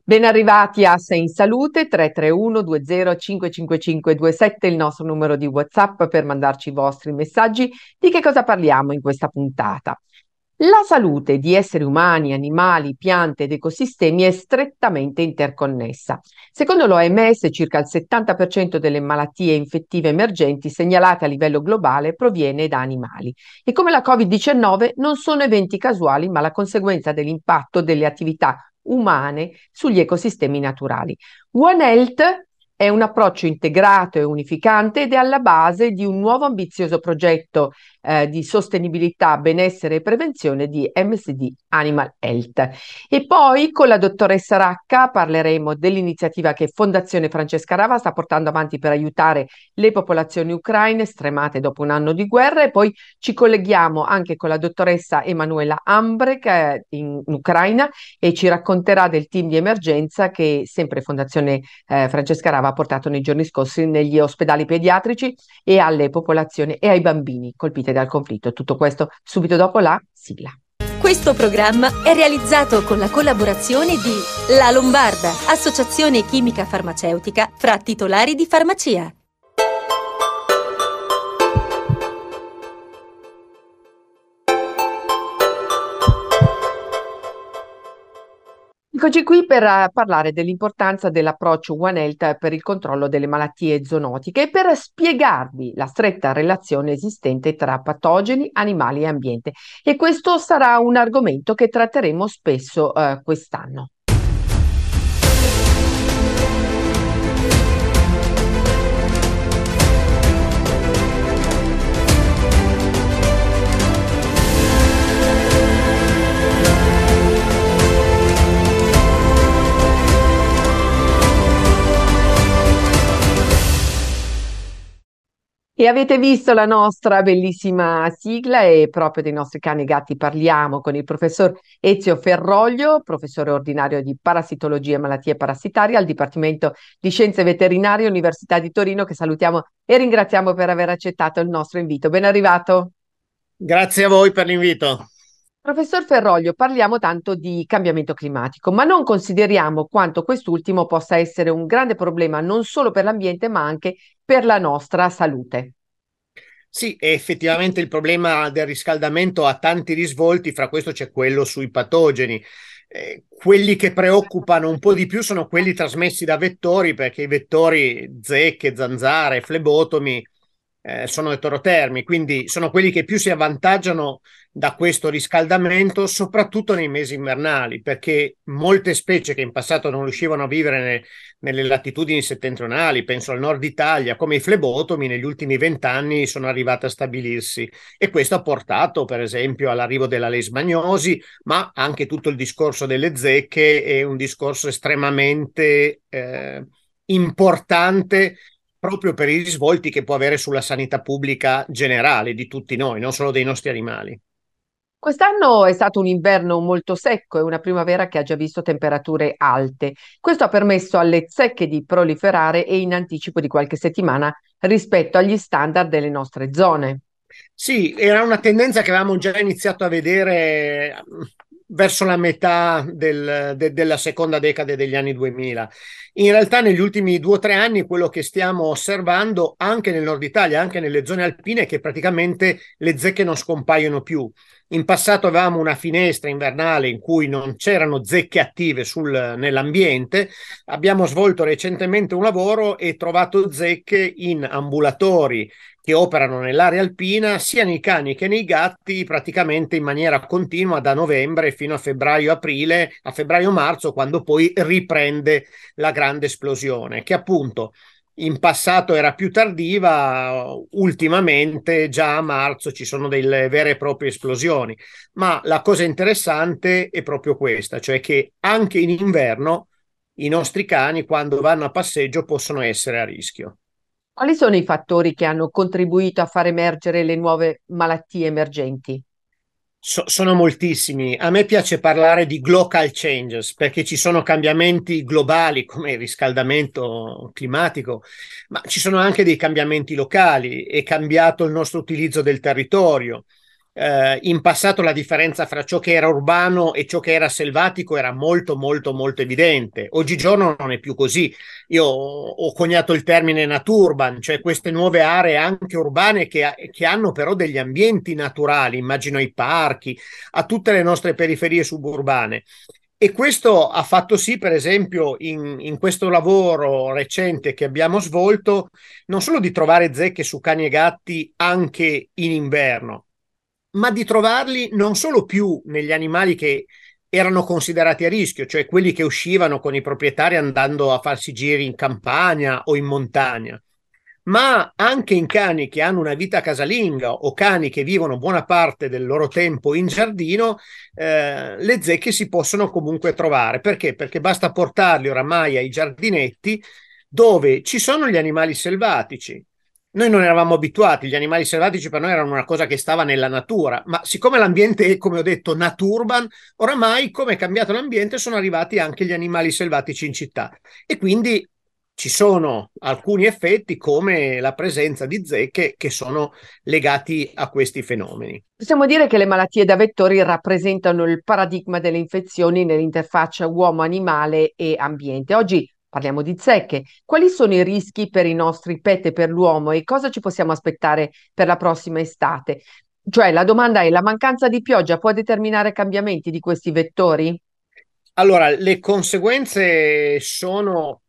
Ben arrivati a Sei in Salute 331 20 555 27, il nostro numero di WhatsApp per mandarci i vostri messaggi. Di che cosa parliamo in questa puntata? La salute di esseri umani, animali, piante ed ecosistemi è strettamente interconnessa. Secondo l'OMS, circa il 70% delle malattie infettive emergenti segnalate a livello globale proviene da animali. E come la Covid-19 non sono eventi casuali, ma la conseguenza dell'impatto delle attività umane sugli ecosistemi naturali. One Health è un approccio integrato e unificante ed è alla base di un nuovo ambizioso progetto di sostenibilità, benessere e prevenzione di MSD Animal Health. E poi con la dottoressa Racca parleremo dell'iniziativa che Fondazione Francesca Rava sta portando avanti per aiutare le popolazioni ucraine stremate dopo un anno di guerra, e poi ci colleghiamo anche con la dottoressa Emanuela Ambre che è in Ucraina e ci racconterà del team di emergenza che sempre Fondazione Francesca Rava ha portato nei giorni scorsi negli ospedali pediatrici e alle popolazioni e ai bambini colpiti dal conflitto. Tutto questo subito dopo la sigla. Questo programma è realizzato con la collaborazione di La Lombarda, associazione chimica farmaceutica fra titolari di farmacia. Eccoci qui per parlare dell'importanza dell'approccio One Health per il controllo delle malattie zoonotiche e per spiegarvi la stretta relazione esistente tra patogeni, animali e ambiente. E questo sarà un argomento che tratteremo spesso quest'anno. E avete visto la nostra bellissima sigla, e proprio dei nostri cani e gatti parliamo con il professor Ezio Ferroglio, professore ordinario di parassitologia e malattie parassitarie al Dipartimento di Scienze Veterinarie Università di Torino, che salutiamo e ringraziamo per aver accettato il nostro invito. Ben arrivato. Grazie a voi per l'invito. Professor Ferroglio, parliamo tanto di cambiamento climatico, ma non consideriamo quanto quest'ultimo possa essere un grande problema non solo per l'ambiente, ma anche per la nostra salute. Sì, effettivamente il problema del riscaldamento ha tanti risvolti, fra questo c'è quello sui patogeni. Quelli che preoccupano un po' di più sono quelli trasmessi da vettori, perché i vettori zecche, zanzare, flebotomi sono eterotermi, quindi sono quelli che più si avvantaggiano da questo riscaldamento, soprattutto nei mesi invernali, perché molte specie che in passato non riuscivano a vivere nelle latitudini settentrionali, penso al nord Italia, come i flebotomi, negli ultimi 20 anni sono arrivate a stabilirsi, e questo ha portato per esempio all'arrivo della leishmaniosi, ma anche tutto il discorso delle zecche è un discorso estremamente importante, proprio per i risvolti che può avere sulla sanità pubblica generale di tutti noi, non solo dei nostri animali. Quest'anno è stato un inverno molto secco e una primavera che ha già visto temperature alte. Questo ha permesso alle zecche di proliferare e in anticipo di qualche settimana rispetto agli standard delle nostre zone. Sì, era una tendenza che avevamo già iniziato a vedere verso la metà della seconda decade degli anni 2000. In realtà negli ultimi 2 o 3 anni quello che stiamo osservando anche nel nord Italia, anche nelle zone alpine, è che praticamente le zecche non scompaiono più. In passato avevamo una finestra invernale in cui non c'erano zecche attive nell'ambiente. Abbiamo svolto recentemente un lavoro e trovato zecche in ambulatori che operano nell'area alpina, sia nei cani che nei gatti, praticamente in maniera continua da novembre fino a febbraio-aprile, a febbraio-marzo, quando poi riprende la grande esplosione, che appunto in passato era più tardiva, ultimamente già a marzo ci sono delle vere e proprie esplosioni. Ma la cosa interessante è proprio questa, cioè che anche in inverno i nostri cani, quando vanno a passeggio, possono essere a rischio. Quali sono i fattori che hanno contribuito a far emergere le nuove malattie emergenti? Sono moltissimi. A me piace parlare di global changes perché ci sono cambiamenti globali come il riscaldamento climatico, ma ci sono anche dei cambiamenti locali. È cambiato il nostro utilizzo del territorio. In passato la differenza fra ciò che era urbano e ciò che era selvatico era molto molto molto evidente. Oggigiorno non è più così. Io ho coniato il termine naturban, cioè queste nuove aree anche urbane che hanno però degli ambienti naturali, immagino ai parchi, a tutte le nostre periferie suburbane. E questo ha fatto sì, per esempio, in questo lavoro recente che abbiamo svolto, non solo di trovare zecche su cani e gatti anche in inverno, ma di trovarli non solo più negli animali che erano considerati a rischio, cioè quelli che uscivano con i proprietari andando a farsi giri in campagna o in montagna, ma anche in cani che hanno una vita casalinga o cani che vivono buona parte del loro tempo in giardino. Le zecche si possono comunque trovare. Perché? Perché basta portarli oramai ai giardinetti dove ci sono gli animali selvatici. Noi non eravamo abituati, gli animali selvatici per noi erano una cosa che stava nella natura, ma siccome l'ambiente è, come ho detto, naturban, oramai, come è cambiato l'ambiente, sono arrivati anche gli animali selvatici in città. E quindi ci sono alcuni effetti come la presenza di zecche che sono legati a questi fenomeni. Possiamo dire che le malattie da vettori rappresentano il paradigma delle infezioni nell'interfaccia uomo-animale e ambiente. Oggi parliamo di zecche. Quali sono i rischi per i nostri pet e per l'uomo e cosa ci possiamo aspettare per la prossima estate? Cioè, la domanda è: la mancanza di pioggia può determinare cambiamenti di questi vettori? Allora, le conseguenze sono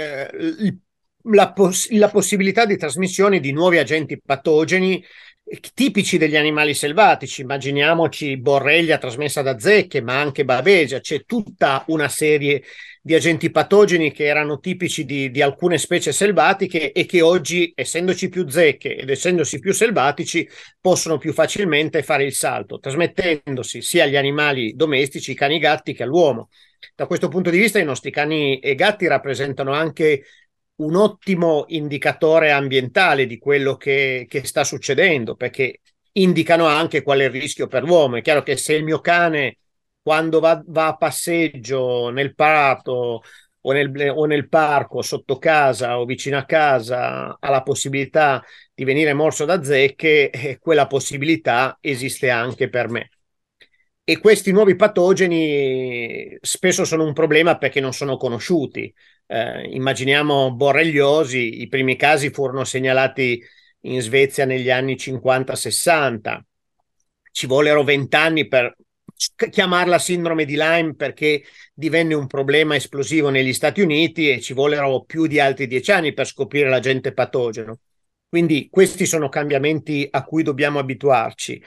la possibilità di trasmissione di nuovi agenti patogeni tipici degli animali selvatici. Immaginiamoci borrelia trasmessa da zecche, ma anche bavesia. C'è tutta una serie di agenti patogeni che erano tipici di alcune specie selvatiche e che oggi, essendoci più zecche ed essendosi più selvatici, possono più facilmente fare il salto, trasmettendosi sia agli animali domestici, cani e gatti, che all'uomo. Da questo punto di vista i nostri cani e gatti rappresentano anche un ottimo indicatore ambientale di quello che sta succedendo, perché indicano anche qual è il rischio per l'uomo. È chiaro che se il mio cane, quando va a passeggio nel prato o nel parco, sotto casa o vicino a casa, ha la possibilità di venire morso da zecche, quella possibilità esiste anche per me. E questi nuovi patogeni spesso sono un problema perché non sono conosciuti. Immaginiamo borreliosi, i primi casi furono segnalati in Svezia negli anni 50-60. Ci vollero 20 anni per chiamarla sindrome di Lyme perché divenne un problema esplosivo negli Stati Uniti e ci vollero più di altri 10 anni per scoprire l'agente patogeno. Quindi questi sono cambiamenti a cui dobbiamo abituarci.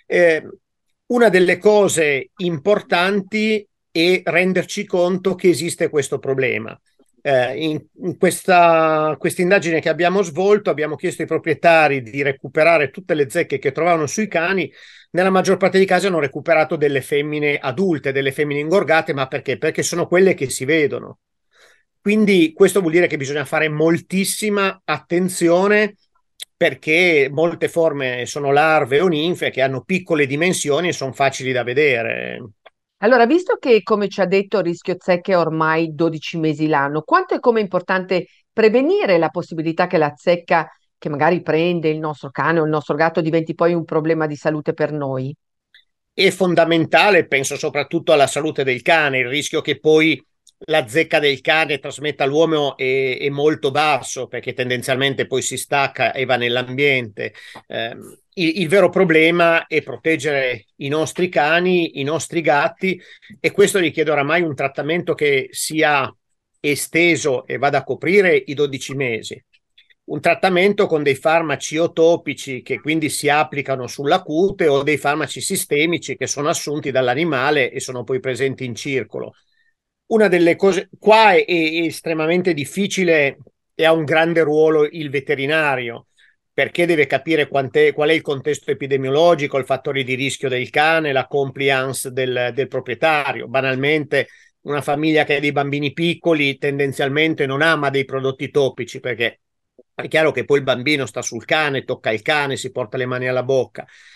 Una delle cose importanti è renderci conto che esiste questo problema. In questa indagine che abbiamo svolto abbiamo chiesto ai proprietari di recuperare tutte le zecche che trovavano sui cani. Nella maggior parte dei casi hanno recuperato delle femmine adulte, delle femmine ingorgate, ma perché? Perché sono quelle che si vedono. Quindi questo vuol dire che bisogna fare moltissima attenzione perché molte forme sono larve o ninfe che hanno piccole dimensioni e sono facili da vedere. Allora, visto che, come ci ha detto, il rischio zecche è ormai 12 mesi l'anno, quanto è come importante prevenire la possibilità che la zecca che magari prende il nostro cane o il nostro gatto diventi poi un problema di salute per noi? È fondamentale, penso soprattutto alla salute del cane, il rischio che poi la zecca del cane trasmetta all'uomo è molto basso perché tendenzialmente poi si stacca e va nell'ambiente. Il vero problema è proteggere i nostri cani, i nostri gatti, e questo richiede oramai un trattamento che sia esteso e vada a coprire i 12 mesi. Un trattamento con dei farmaci o topici che quindi si applicano sulla cute o dei farmaci sistemici che sono assunti dall'animale e sono poi presenti in circolo. Una delle cose qua è estremamente difficile e ha un grande ruolo il veterinario, perché deve capire qual è il contesto epidemiologico, i fattori di rischio del cane, la compliance del proprietario. Banalmente, una famiglia che ha dei bambini piccoli tendenzialmente non ama dei prodotti topici perché è chiaro che poi il bambino sta sul cane, tocca il cane, si porta le mani alla bocca.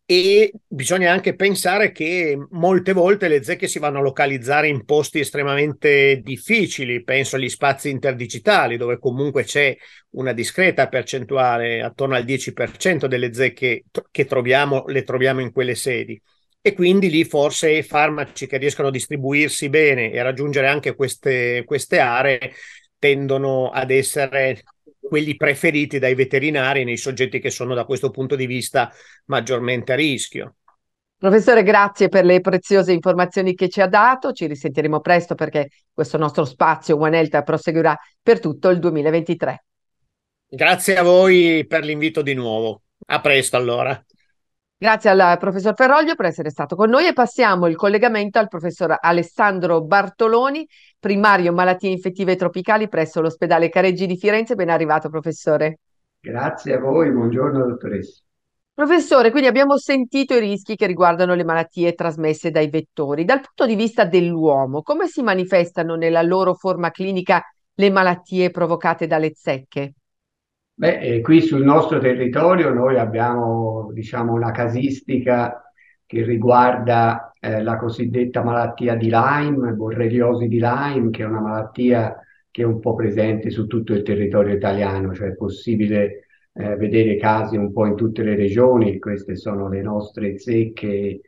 E bisogna anche pensare che molte volte le zecche si vanno a localizzare in posti estremamente difficili, penso agli spazi interdigitali, dove comunque c'è una discreta percentuale, attorno al 10% delle zecche che troviamo, le troviamo in quelle sedi. E quindi lì forse farmaci che riescono a distribuirsi bene e a raggiungere anche queste aree tendono ad essere quelli preferiti dai veterinari nei soggetti che sono da questo punto di vista maggiormente a rischio. Professore, grazie per le preziose informazioni che ci ha dato. Ci risentiremo presto perché questo nostro spazio One Health proseguirà per tutto il 2023. Grazie a voi per l'invito di nuovo. A presto allora. Grazie al professor Ferroglio per essere stato con noi e passiamo il collegamento al professor Alessandro Bartoloni, primario malattie infettive tropicali presso l'ospedale Careggi di Firenze. Ben arrivato, professore. Grazie a voi, buongiorno dottoressa. Professore, quindi abbiamo sentito i rischi che riguardano le malattie trasmesse dai vettori. Dal punto di vista dell'uomo, come si manifestano nella loro forma clinica le malattie provocate dalle zecche? Qui sul nostro territorio noi abbiamo, diciamo, una casistica che riguarda la cosiddetta malattia di Lyme, borreliosi di Lyme, che è una malattia che è un po' presente su tutto il territorio italiano, cioè è possibile vedere casi un po' in tutte le regioni. Queste sono le nostre zecche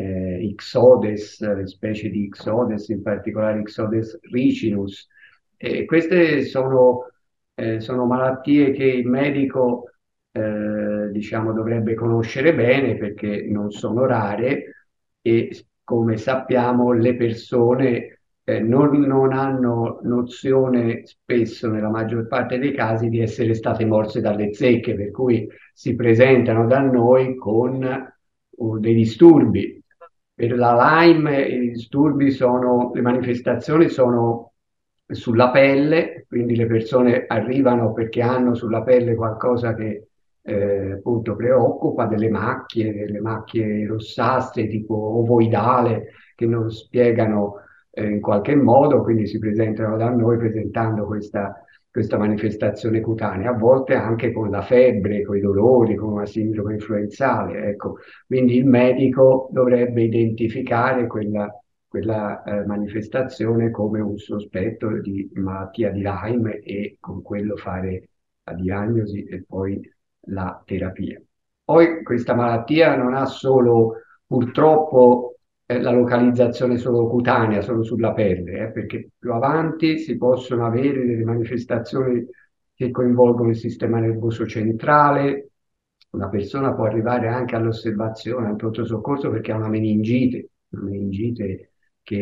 Ixodes, le specie di Ixodes, in particolare Ixodes ricinus. Queste sono malattie che il medico diciamo, dovrebbe conoscere bene perché non sono rare e come sappiamo le persone non hanno nozione spesso, nella maggior parte dei casi, di essere state morse dalle zecche, per cui si presentano da noi con dei disturbi. Per la Lyme i disturbi sono, le manifestazioni sono sulla pelle, quindi le persone arrivano perché hanno sulla pelle qualcosa che appunto preoccupa, delle macchie rossastre tipo ovoidale che non spiegano in qualche modo, quindi si presentano da noi presentando questa manifestazione cutanea, a volte anche con la febbre, con i dolori, con una sindrome influenzale, ecco. Quindi il medico dovrebbe identificare quella manifestazione come un sospetto di malattia di Lyme e con quello fare la diagnosi e poi la terapia. Poi questa malattia non ha solo purtroppo la localizzazione solo cutanea, solo sulla pelle, perché più avanti si possono avere delle manifestazioni che coinvolgono il sistema nervoso centrale. Una persona può arrivare anche all'osservazione, al pronto soccorso perché ha una meningite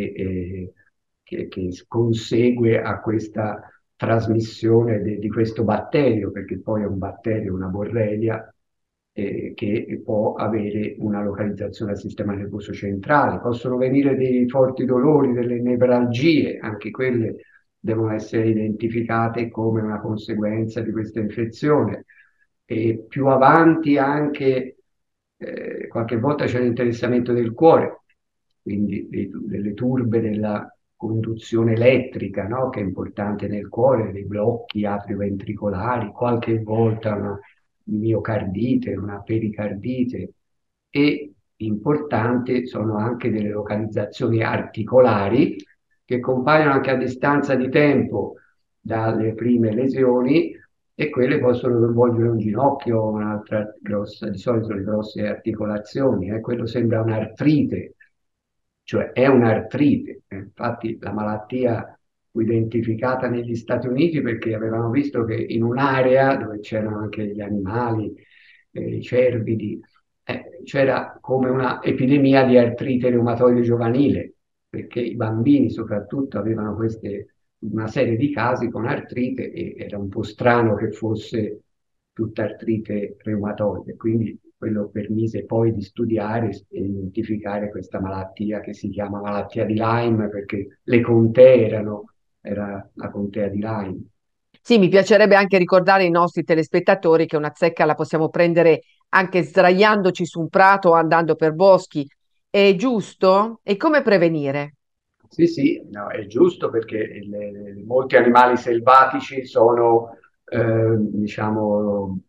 che consegue a questa trasmissione di questo batterio, perché poi è un batterio, una borrelia, che può avere una localizzazione al sistema nervoso centrale. Possono venire dei forti dolori, delle nevralgie, anche quelle devono essere identificate come una conseguenza di questa infezione. E più avanti anche qualche volta c'è l'interessamento del cuore, quindi delle turbe della conduzione elettrica, no? Che è importante nel cuore, dei blocchi atrioventricolari, qualche volta una miocardite, una pericardite e importante sono anche delle localizzazioni articolari che compaiono anche a distanza di tempo dalle prime lesioni e quelle possono coinvolgere un ginocchio, un'altra grossa, di solito le grosse articolazioni, quello sembra un'artrite, cioè è un'artrite. Infatti la malattia fu identificata negli Stati Uniti perché avevano visto che in un'area dove c'erano anche gli animali, i cervidi, c'era come una epidemia di artrite reumatoide giovanile, perché i bambini soprattutto avevano una serie di casi con artrite e era un po' strano che fosse tutta artrite reumatoide, quindi quello permise poi di studiare e identificare questa malattia che si chiama malattia di Lyme perché le contee era la contea di Lyme. Sì, mi piacerebbe anche ricordare ai nostri telespettatori che una zecca la possiamo prendere anche sdraiandoci su un prato o andando per boschi. È giusto? E come prevenire? Sì, sì, no, è giusto perché molti animali selvatici sono, diciamo,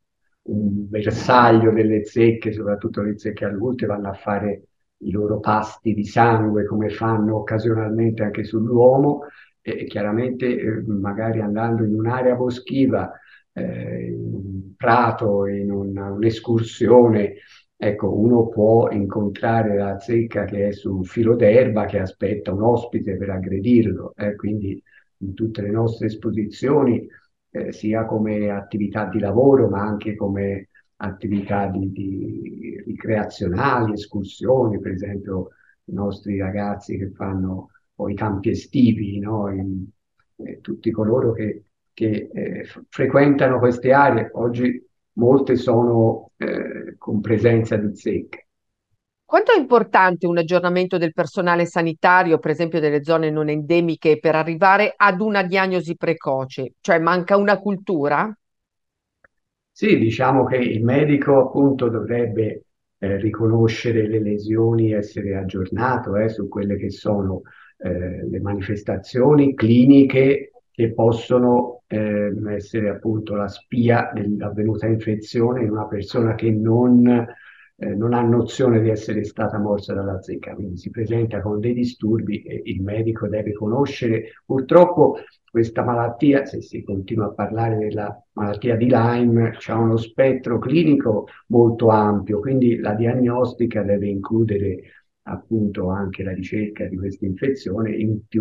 un bersaglio delle zecche, soprattutto le zecche adulte, vanno a fare i loro pasti di sangue come fanno occasionalmente anche sull'uomo, e chiaramente magari andando in un'area boschiva, in un prato, in un'escursione, ecco, uno può incontrare la zecca che è su un filo d'erba che aspetta un ospite per aggredirlo, quindi in tutte le nostre esposizioni, sia come attività di lavoro, ma anche come attività di ricreazionali, escursioni, per esempio i nostri ragazzi che fanno o i campi estivi, no? Tutti coloro che frequentano queste aree, oggi molte sono con presenza di zecche. Quanto è importante un aggiornamento del personale sanitario, per esempio delle zone non endemiche, per arrivare ad una diagnosi precoce? Cioè manca una cultura? Sì, diciamo che il medico appunto dovrebbe riconoscere le lesioni, essere aggiornato su quelle che sono le manifestazioni cliniche che possono essere appunto la spia dell'avvenuta infezione in una persona che non ha nozione di essere stata morsa dalla zecca, quindi si presenta con dei disturbi e il medico deve conoscere. Purtroppo questa malattia, se si continua a parlare della malattia di Lyme, ha uno spettro clinico molto ampio, quindi la diagnostica deve includere appunto anche la ricerca di questa infezione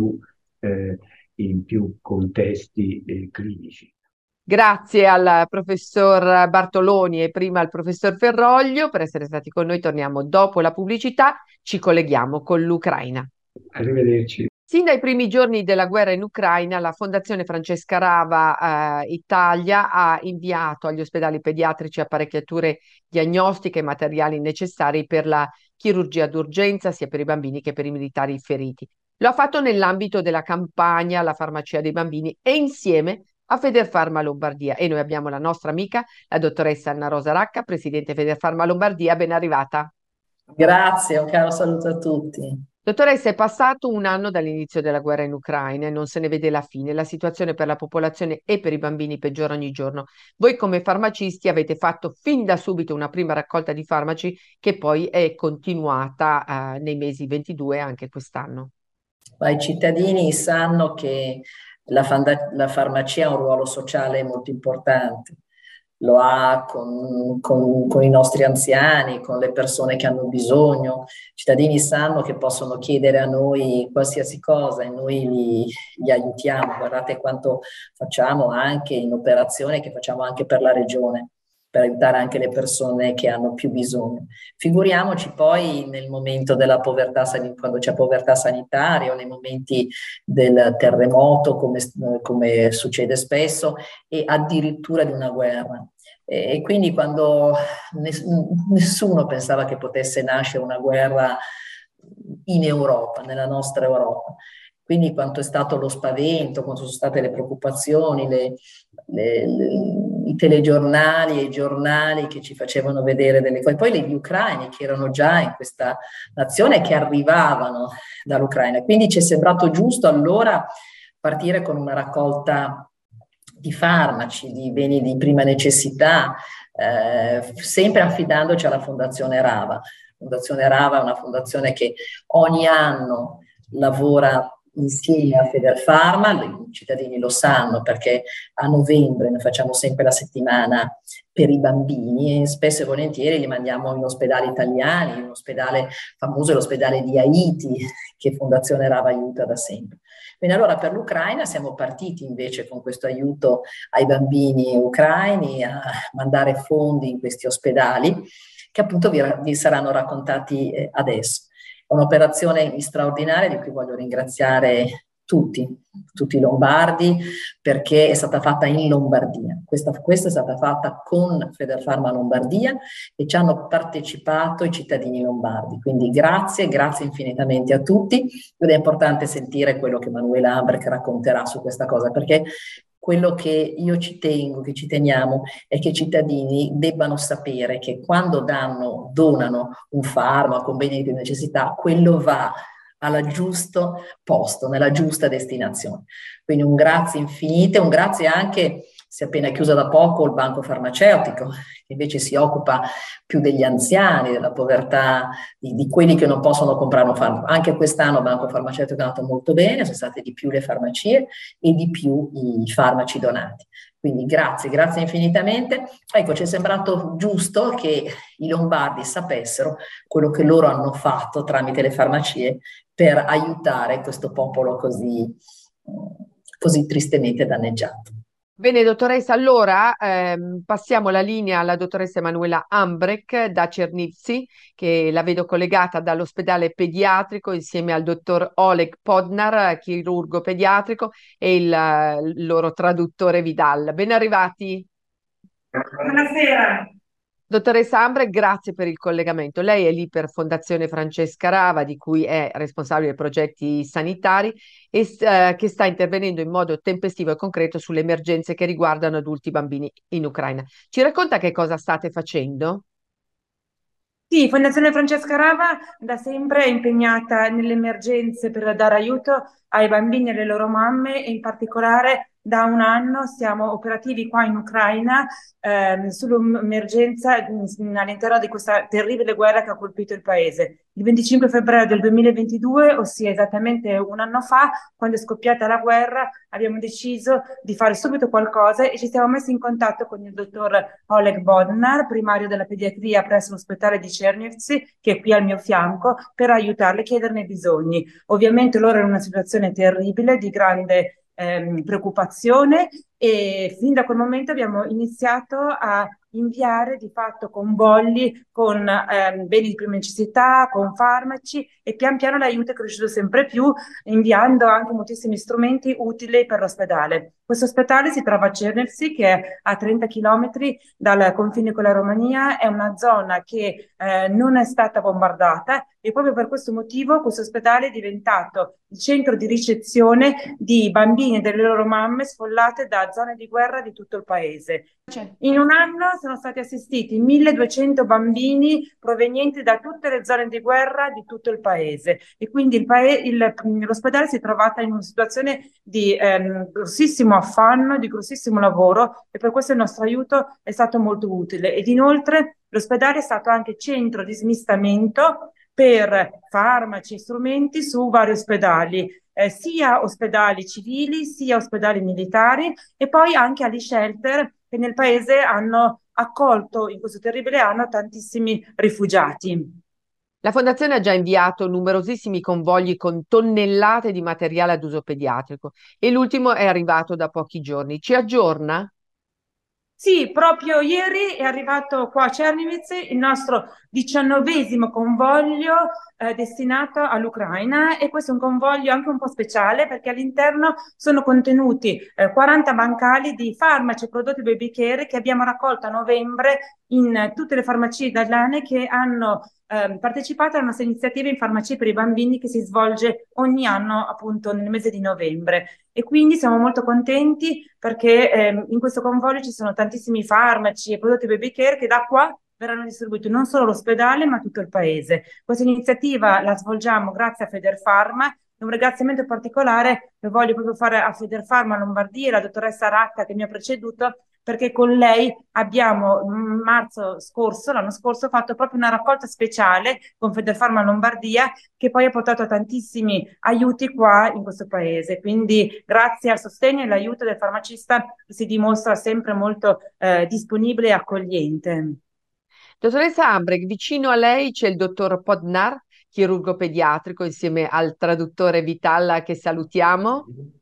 in più contesti clinici. Grazie al professor Bartoloni e prima al professor Ferroglio per essere stati con noi. Torniamo dopo la pubblicità, ci colleghiamo con l'Ucraina. Arrivederci. Sin dai primi giorni della guerra in Ucraina, la Fondazione Francesca Rava Italia ha inviato agli ospedali pediatrici apparecchiature diagnostiche e materiali necessari per la chirurgia d'urgenza, sia per i bambini che per i militari feriti. Lo ha fatto nell'ambito della campagna La farmacia dei bambini e insieme a Federfarma Lombardia. E noi abbiamo la nostra amica, la dottoressa Anna Rosa Racca, presidente Federfarma Lombardia. Ben arrivata. Grazie, un caro saluto a tutti. Dottoressa, è passato un anno dall'inizio della guerra in Ucraina e non se ne vede la fine. La situazione per la popolazione e per i bambini peggiora ogni giorno. Voi come farmacisti avete fatto fin da subito una prima raccolta di farmaci che poi è continuata nei mesi 22 anche quest'anno. Ma i cittadini sanno che la farmacia ha un ruolo sociale molto importante. Lo ha con i nostri anziani, con le persone che hanno bisogno. I cittadini sanno che possono chiedere a noi qualsiasi cosa e noi li aiutiamo. Guardate quanto facciamo anche in operazione, che facciamo anche per la regione, per aiutare anche le persone che hanno più bisogno. Figuriamoci poi nel momento della povertà, quando c'è povertà sanitaria o nei momenti del terremoto, come succede spesso, e addirittura di una guerra. E quindi quando nessuno pensava che potesse nascere una guerra in Europa, nella nostra Europa. Quindi quanto è stato lo spavento, quanto sono state le preoccupazioni, i telegiornali e i giornali che ci facevano vedere delle cose. Poi gli ucraini che erano già in questa nazione, che arrivavano dall'Ucraina. Quindi ci è sembrato giusto allora partire con una raccolta di farmaci, di beni di prima necessità, sempre affidandoci alla Fondazione Rava. La Fondazione Rava è una fondazione che ogni anno lavora insieme a Federfarma, i cittadini lo sanno perché a novembre noi facciamo sempre la settimana per i bambini e spesso e volentieri li mandiamo in ospedali italiani, un ospedale famoso è l'ospedale di Haiti che Fondazione Rava aiuta da sempre. Bene, allora per l'Ucraina siamo partiti invece con questo aiuto ai bambini ucraini a mandare fondi in questi ospedali che appunto vi saranno raccontati adesso. È un'operazione straordinaria di cui voglio ringraziare tutti i lombardi perché è stata fatta in Lombardia. Questa è stata fatta con Federfarma Lombardia e ci hanno partecipato i cittadini lombardi. Quindi grazie infinitamente a tutti ed è importante sentire quello che Manuela Ambrecht racconterà su questa cosa perché quello che io ci tengo, che ci teniamo, è che i cittadini debbano sapere che quando donano un farmaco, un bene di prima necessità, quello va al giusto posto, nella giusta destinazione. Quindi un grazie infinite, un grazie anche si è appena chiuso da poco il banco farmaceutico, che invece si occupa più degli anziani, della povertà, di quelli che non possono comprare un farmaco. Anche quest'anno il banco farmaceutico è andato molto bene, sono state di più le farmacie e di più i farmaci donati. Quindi grazie infinitamente. Ecco, ci è sembrato giusto che i lombardi sapessero quello che loro hanno fatto tramite le farmacie per aiutare questo popolo così tristemente danneggiato. Bene, dottoressa, allora passiamo la linea alla dottoressa Emanuela Ambrek da Černivci, che la vedo collegata dall'ospedale pediatrico insieme al dottor Oleg Podnar, chirurgo pediatrico, e il loro traduttore Vidal. Ben arrivati. Buonasera. Dottoressa Ambrek, grazie per il collegamento. Lei è lì per Fondazione Francesca Rava, di cui è responsabile dei progetti sanitari e che sta intervenendo in modo tempestivo e concreto sulle emergenze che riguardano adulti e bambini in Ucraina. Ci racconta che cosa state facendo? Sì, Fondazione Francesca Rava da sempre è impegnata nelle emergenze per dare aiuto ai bambini e alle loro mamme e in particolare da un anno siamo operativi qua in Ucraina sull'emergenza all'interno di questa terribile guerra che ha colpito il paese. Il 25 febbraio del 2022, ossia esattamente un anno fa, quando è scoppiata la guerra, abbiamo deciso di fare subito qualcosa e ci siamo messi in contatto con il dottor Oleg Bodnar, primario della pediatria presso l'ospedale di Černivci, che è qui al mio fianco, per aiutarle e chiederne i bisogni. Ovviamente loro erano in una situazione terribile, di grande preoccupazione e fin da quel momento abbiamo iniziato a inviare di fatto convogli con beni di prima necessità, con farmaci e pian piano l'aiuto è cresciuto sempre più, inviando anche moltissimi strumenti utili per l'ospedale. Questo ospedale si trova a Černivci, che è a 30 chilometri dal confine con la Romania, è una zona che non è stata bombardata e proprio per questo motivo questo ospedale è diventato il centro di ricezione di bambini e delle loro mamme sfollate da zone di guerra di tutto il paese. In un anno sono stati assistiti 1200 bambini provenienti da tutte le zone di guerra di tutto il paese e quindi l'ospedale si è trovata in una situazione di grossissimo affanno, di grossissimo lavoro e per questo il nostro aiuto è stato molto utile ed inoltre l'ospedale è stato anche centro di smistamento per farmaci e strumenti su vari ospedali, sia ospedali civili sia ospedali militari e poi anche agli shelter che nel paese hanno accolto in questo terribile anno tantissimi rifugiati. La Fondazione ha già inviato numerosissimi convogli con tonnellate di materiale ad uso pediatrico e l'ultimo è arrivato da pochi giorni. Ci aggiorna? Sì, proprio ieri è arrivato qua a Černivci il nostro 19° convoglio destinato all'Ucraina e questo è un convoglio anche un po' speciale perché all'interno sono contenuti 40 bancali di farmaci e prodotti baby care che abbiamo raccolto a novembre in tutte le farmacie italiane che hanno partecipato a una nostra iniziativa in farmacie per i bambini che si svolge ogni anno appunto nel mese di novembre e quindi siamo molto contenti perché in questo convoglio ci sono tantissimi farmaci e prodotti baby care che da qua verranno distribuiti non solo all'ospedale ma a tutto il paese. Questa iniziativa la svolgiamo grazie a Federfarma e un ringraziamento particolare lo voglio proprio fare a Federfarma Lombardia, la dottoressa Racca che mi ha preceduto perché con lei abbiamo l'anno scorso fatto proprio una raccolta speciale con Federfarma Lombardia che poi ha portato a tantissimi aiuti qua in questo paese. Quindi grazie al sostegno e all'aiuto del farmacista si dimostra sempre molto disponibile e accogliente. Dottoressa Ambrek, vicino a lei c'è il dottor Podnar, chirurgo pediatrico, insieme al traduttore Vitalla che salutiamo.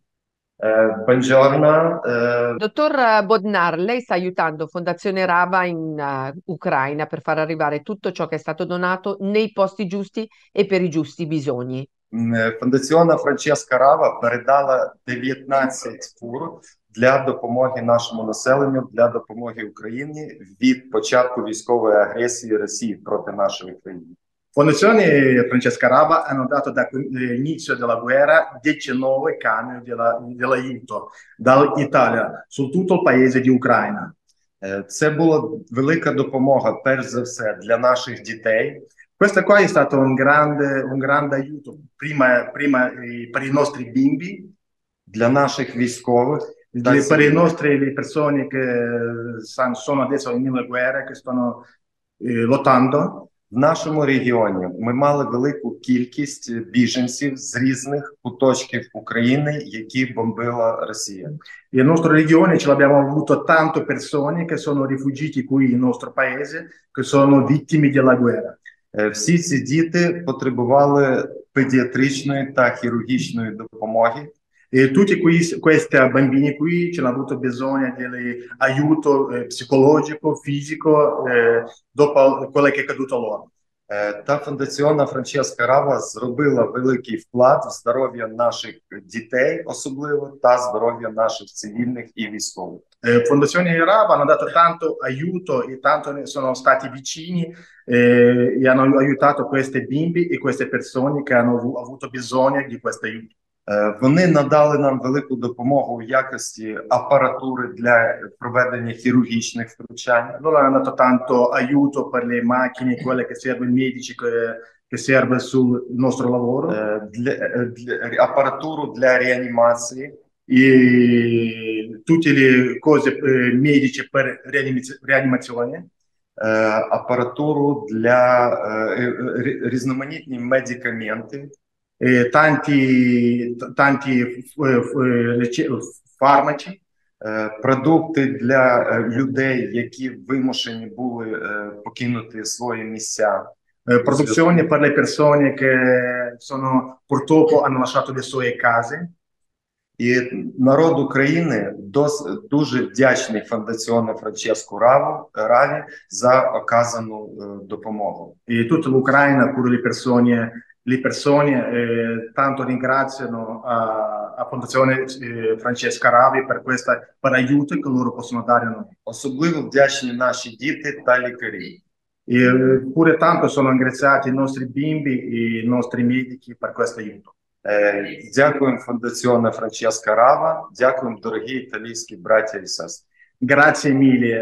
Buongiorno. Dottor Bodnar, lei sta aiutando Fondazione Rava in Ucraina per far arrivare tutto ciò che è stato donato nei posti giusti e per i giusti bisogni. Фондаціонна Франческа Рава передала 19 фур для допомоги нашому населенню, для допомоги Україні від початку військової агресії Росії проти нашої країни. Fondazione Francesca Rava hanno dato dall'inizio della guerra 19 camion dell'aiuto dall'Italia su tutto il paese di Ucraina. Це була велика допомога, перш за все, для наших дітей. Questo qua è stato un grande aiuto prima per i nostri bimbi, для наших військових, Per i nostri le persone che sono adesso nelle guerre, che stanno lottando. В нашому регіоні ми мали велику кількість біженців з різних куточків України, які бомбила Росія. Nel nostro regione ce l'abbiamo avuto tante persone che sono rifugiati qui nel nostro paese, che sono vittime della guerra. Всі ці діти потребували педіатричної та хірургічної допомоги. E tutti questi bambini qui ce l'hanno avuto bisogno di aiuto psicologico, fisico, dopo quello che è accaduto loro. Та фундаційна Франческа Рава зробила великий вклад в здоров'я наших дітей, особливо, та здоров'я наших цивільних і військових. Fondazione Rava hanno dato tanto aiuto e tanto sono stati vicini e hanno aiutato questi bimbi e queste persone che hanno avuto bisogno di questo aiuto. Вони надали нам велику допомогу в якості апаратури для проведення хірургічних втручань. Loro hanno dato tanto aiuto per le macchine, quelle che servono, i medici che serve sul nostro lavoro. Апаратуру для реанімації. E tutte le cose mediche per rianimazione. Апаратуру для різноманітні медикаменти. Tanti farmaci, продукти для людей, які вимушені були покинути свої місця. Produzioni per le persone che purtroppo hanno lasciato le sue case. І народ України дуже вдячний фондаціону Франческу Раві за оказану допомогу. E tutta l'Ucraina, pure le persone tanto ringraziano a Fondazione Francesca Ravi per aiuto che loro possono dare a noi. Особливо вдячні наші діти та лікарі. E pure tanto sono ringraziati i nostri bimbi e i nostri medici per questo aiuto. Дякуємо Фондаціону Франческа Рава, дякуємо дорогі італійські браття і сестри. Grazie mille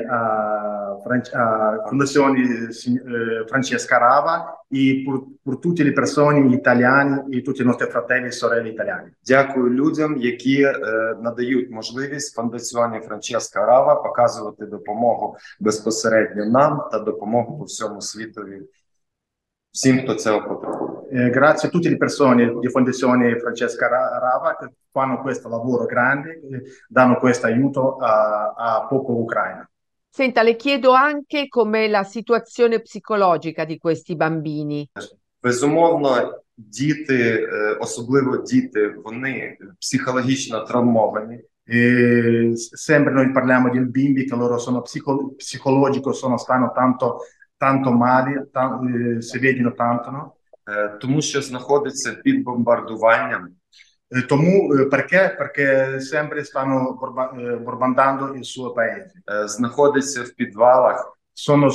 a Fondazione Francesca Rava e per tutte le persone italiane e tutti i nostri fratelli e sorelle italiani. Дякую людям, які надають можливість Фондаціоні Франческа Рава показувати допомогу безпосередньо нам та допомогу по всьому світові, всім, хто цього потребує. Grazie a tutte le persone di Fondazione Francesca Rava che fanno questo lavoro grande, danno questo aiuto a popolo ucraino. Senta, le chiedo anche com'è la situazione psicologica di questi bambini. Безумовно, діти, особливо діти, вони психологічно травмовані. Sempre noi parliamo di bimbi che loro sono psicologico, stanno tanto male, si vedono tanto, no? Тому що знаходиться під бомбардуванням. Тому perché sempre stanno bombardando il suo paese. Знаходиться в підвалах. Sono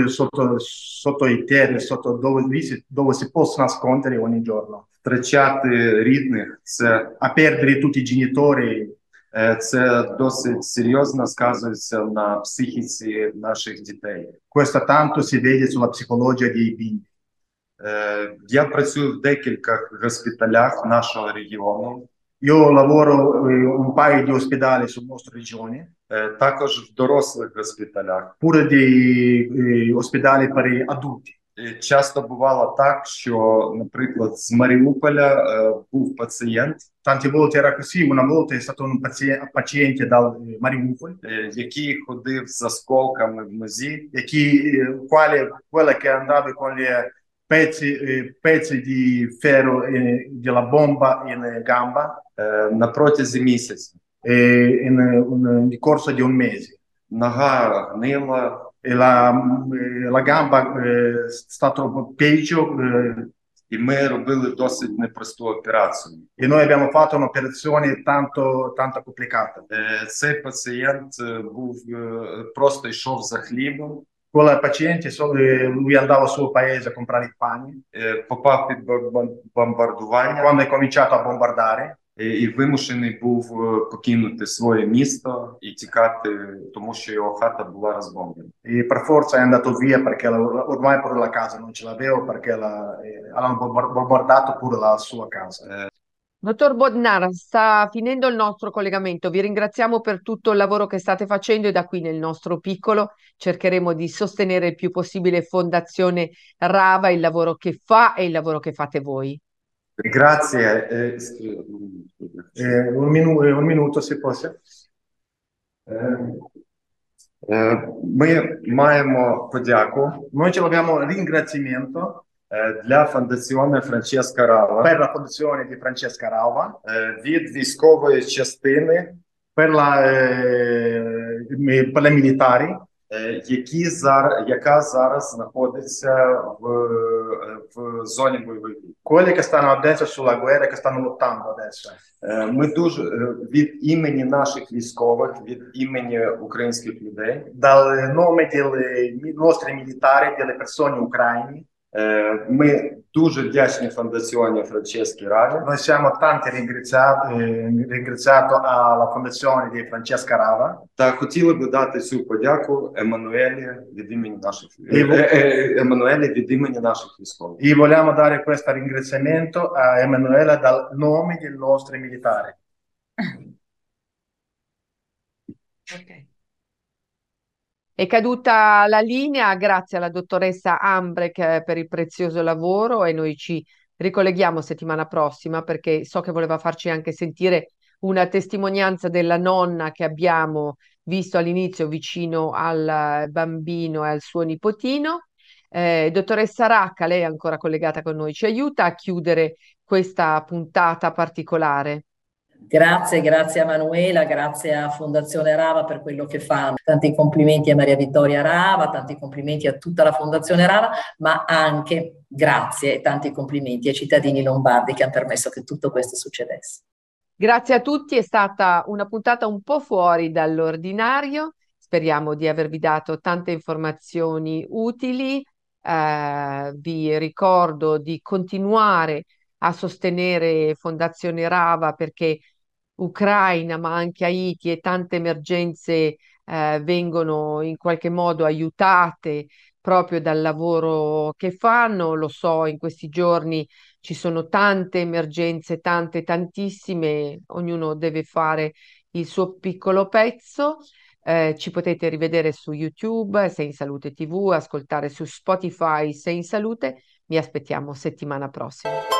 sotto i terri, dove si possono nascondere ogni giorno. Втрачати рідних, це a perdere tutti i genitori. Це досить серйозно сказується на психіці наших дітей. Questo tanto si vede sulla psicologia dei bimbi. Я працюю в декількох госпіталях нашого регіону. Io lavoro un paio di ospedali sul nostro regione. Також в дорослих госпіталях. Pure di ospedali per adulti. Часто бувало так, що, наприклад, з Маріуполя був пацієнт. Tante volte era così, una volta è stato un paziente da Mariupol. Який ходив з осколками в нозі. Quella che andava con gli pezzi di ferro della bomba in gamba. На протязі місяця. Nel corso di un mese. Нога гнила. E la gamba sta troppo peggio. І ми робили досить непросту операцію. E noi abbiamo fatto un'operazione tanto complicata. Цей пацієнт просто йшов за хлібом. Quella paziente, lui andava al suo paese a comprare il pane. Попав під бомбардування. Quando è cominciato a bombardare. І вимушений був покинути своє місто і тікати, тому що його хата була розбомблена. E per forza è andato via perché ormai pure la casa non ce l'aveva perché hanno bombardato pure la sua casa. Dottor Bodnar, sta finendo il nostro collegamento. Vi ringraziamo per tutto il lavoro che state facendo e da qui nel nostro piccolo cercheremo di sostenere il più possibile Fondazione Rava, il lavoro che fa e il lavoro che fate voi. Grazie. Un minuto, se fosse. Ми маємо подяку Noi ci abbiamo ringraziamento для Fondazione Francesca Rava per la fondazione di Francesca Rava, від військової частини, per le militari, яка зараз знаходиться в зоні бойових дій. quelli che stanno adesso sulla guerra, che stanno lottando adesso. Ми дуже від імені наших військових, від імені українських людей, Dal nome dei nostri militari, delle persone ucraine, ми дуже вдячні Фондаціоні Франческі Раві. noi siamo tanti ringraziato alla fondazione di Francesca Rava Та хотіли би дати цю подяку Еммануелі від імені наших Еммануелі від імені наших військових. e vogliamo dare questo ringraziamento a Emanuela dal nome dei nostri militari. Ok. È caduta la linea, grazie alla dottoressa Ambrek per il prezioso lavoro e noi ci ricolleghiamo settimana prossima perché so che voleva farci anche sentire una testimonianza della nonna che abbiamo visto all'inizio vicino al bambino e al suo nipotino. Dottoressa Racca, lei è ancora collegata con noi, ci aiuta a chiudere questa puntata particolare. Grazie a Manuela, grazie a Fondazione Rava per quello che fanno. Tanti complimenti a Maria Vittoria Rava, tanti complimenti a tutta la Fondazione Rava, ma anche grazie e tanti complimenti ai cittadini lombardi che hanno permesso che tutto questo succedesse. Grazie a tutti, è stata una puntata un po' fuori dall'ordinario. Speriamo di avervi dato tante informazioni utili. Vi ricordo di continuare a sostenere Fondazione Rava perché Ucraina, ma anche Haiti e tante emergenze vengono in qualche modo aiutate proprio dal lavoro che fanno. Lo so, in questi giorni ci sono tante emergenze, tantissime, ognuno deve fare il suo piccolo pezzo. Ci potete rivedere su YouTube, Sei in Salute TV, ascoltare su Spotify Sei in Salute. Mi aspettiamo settimana prossima.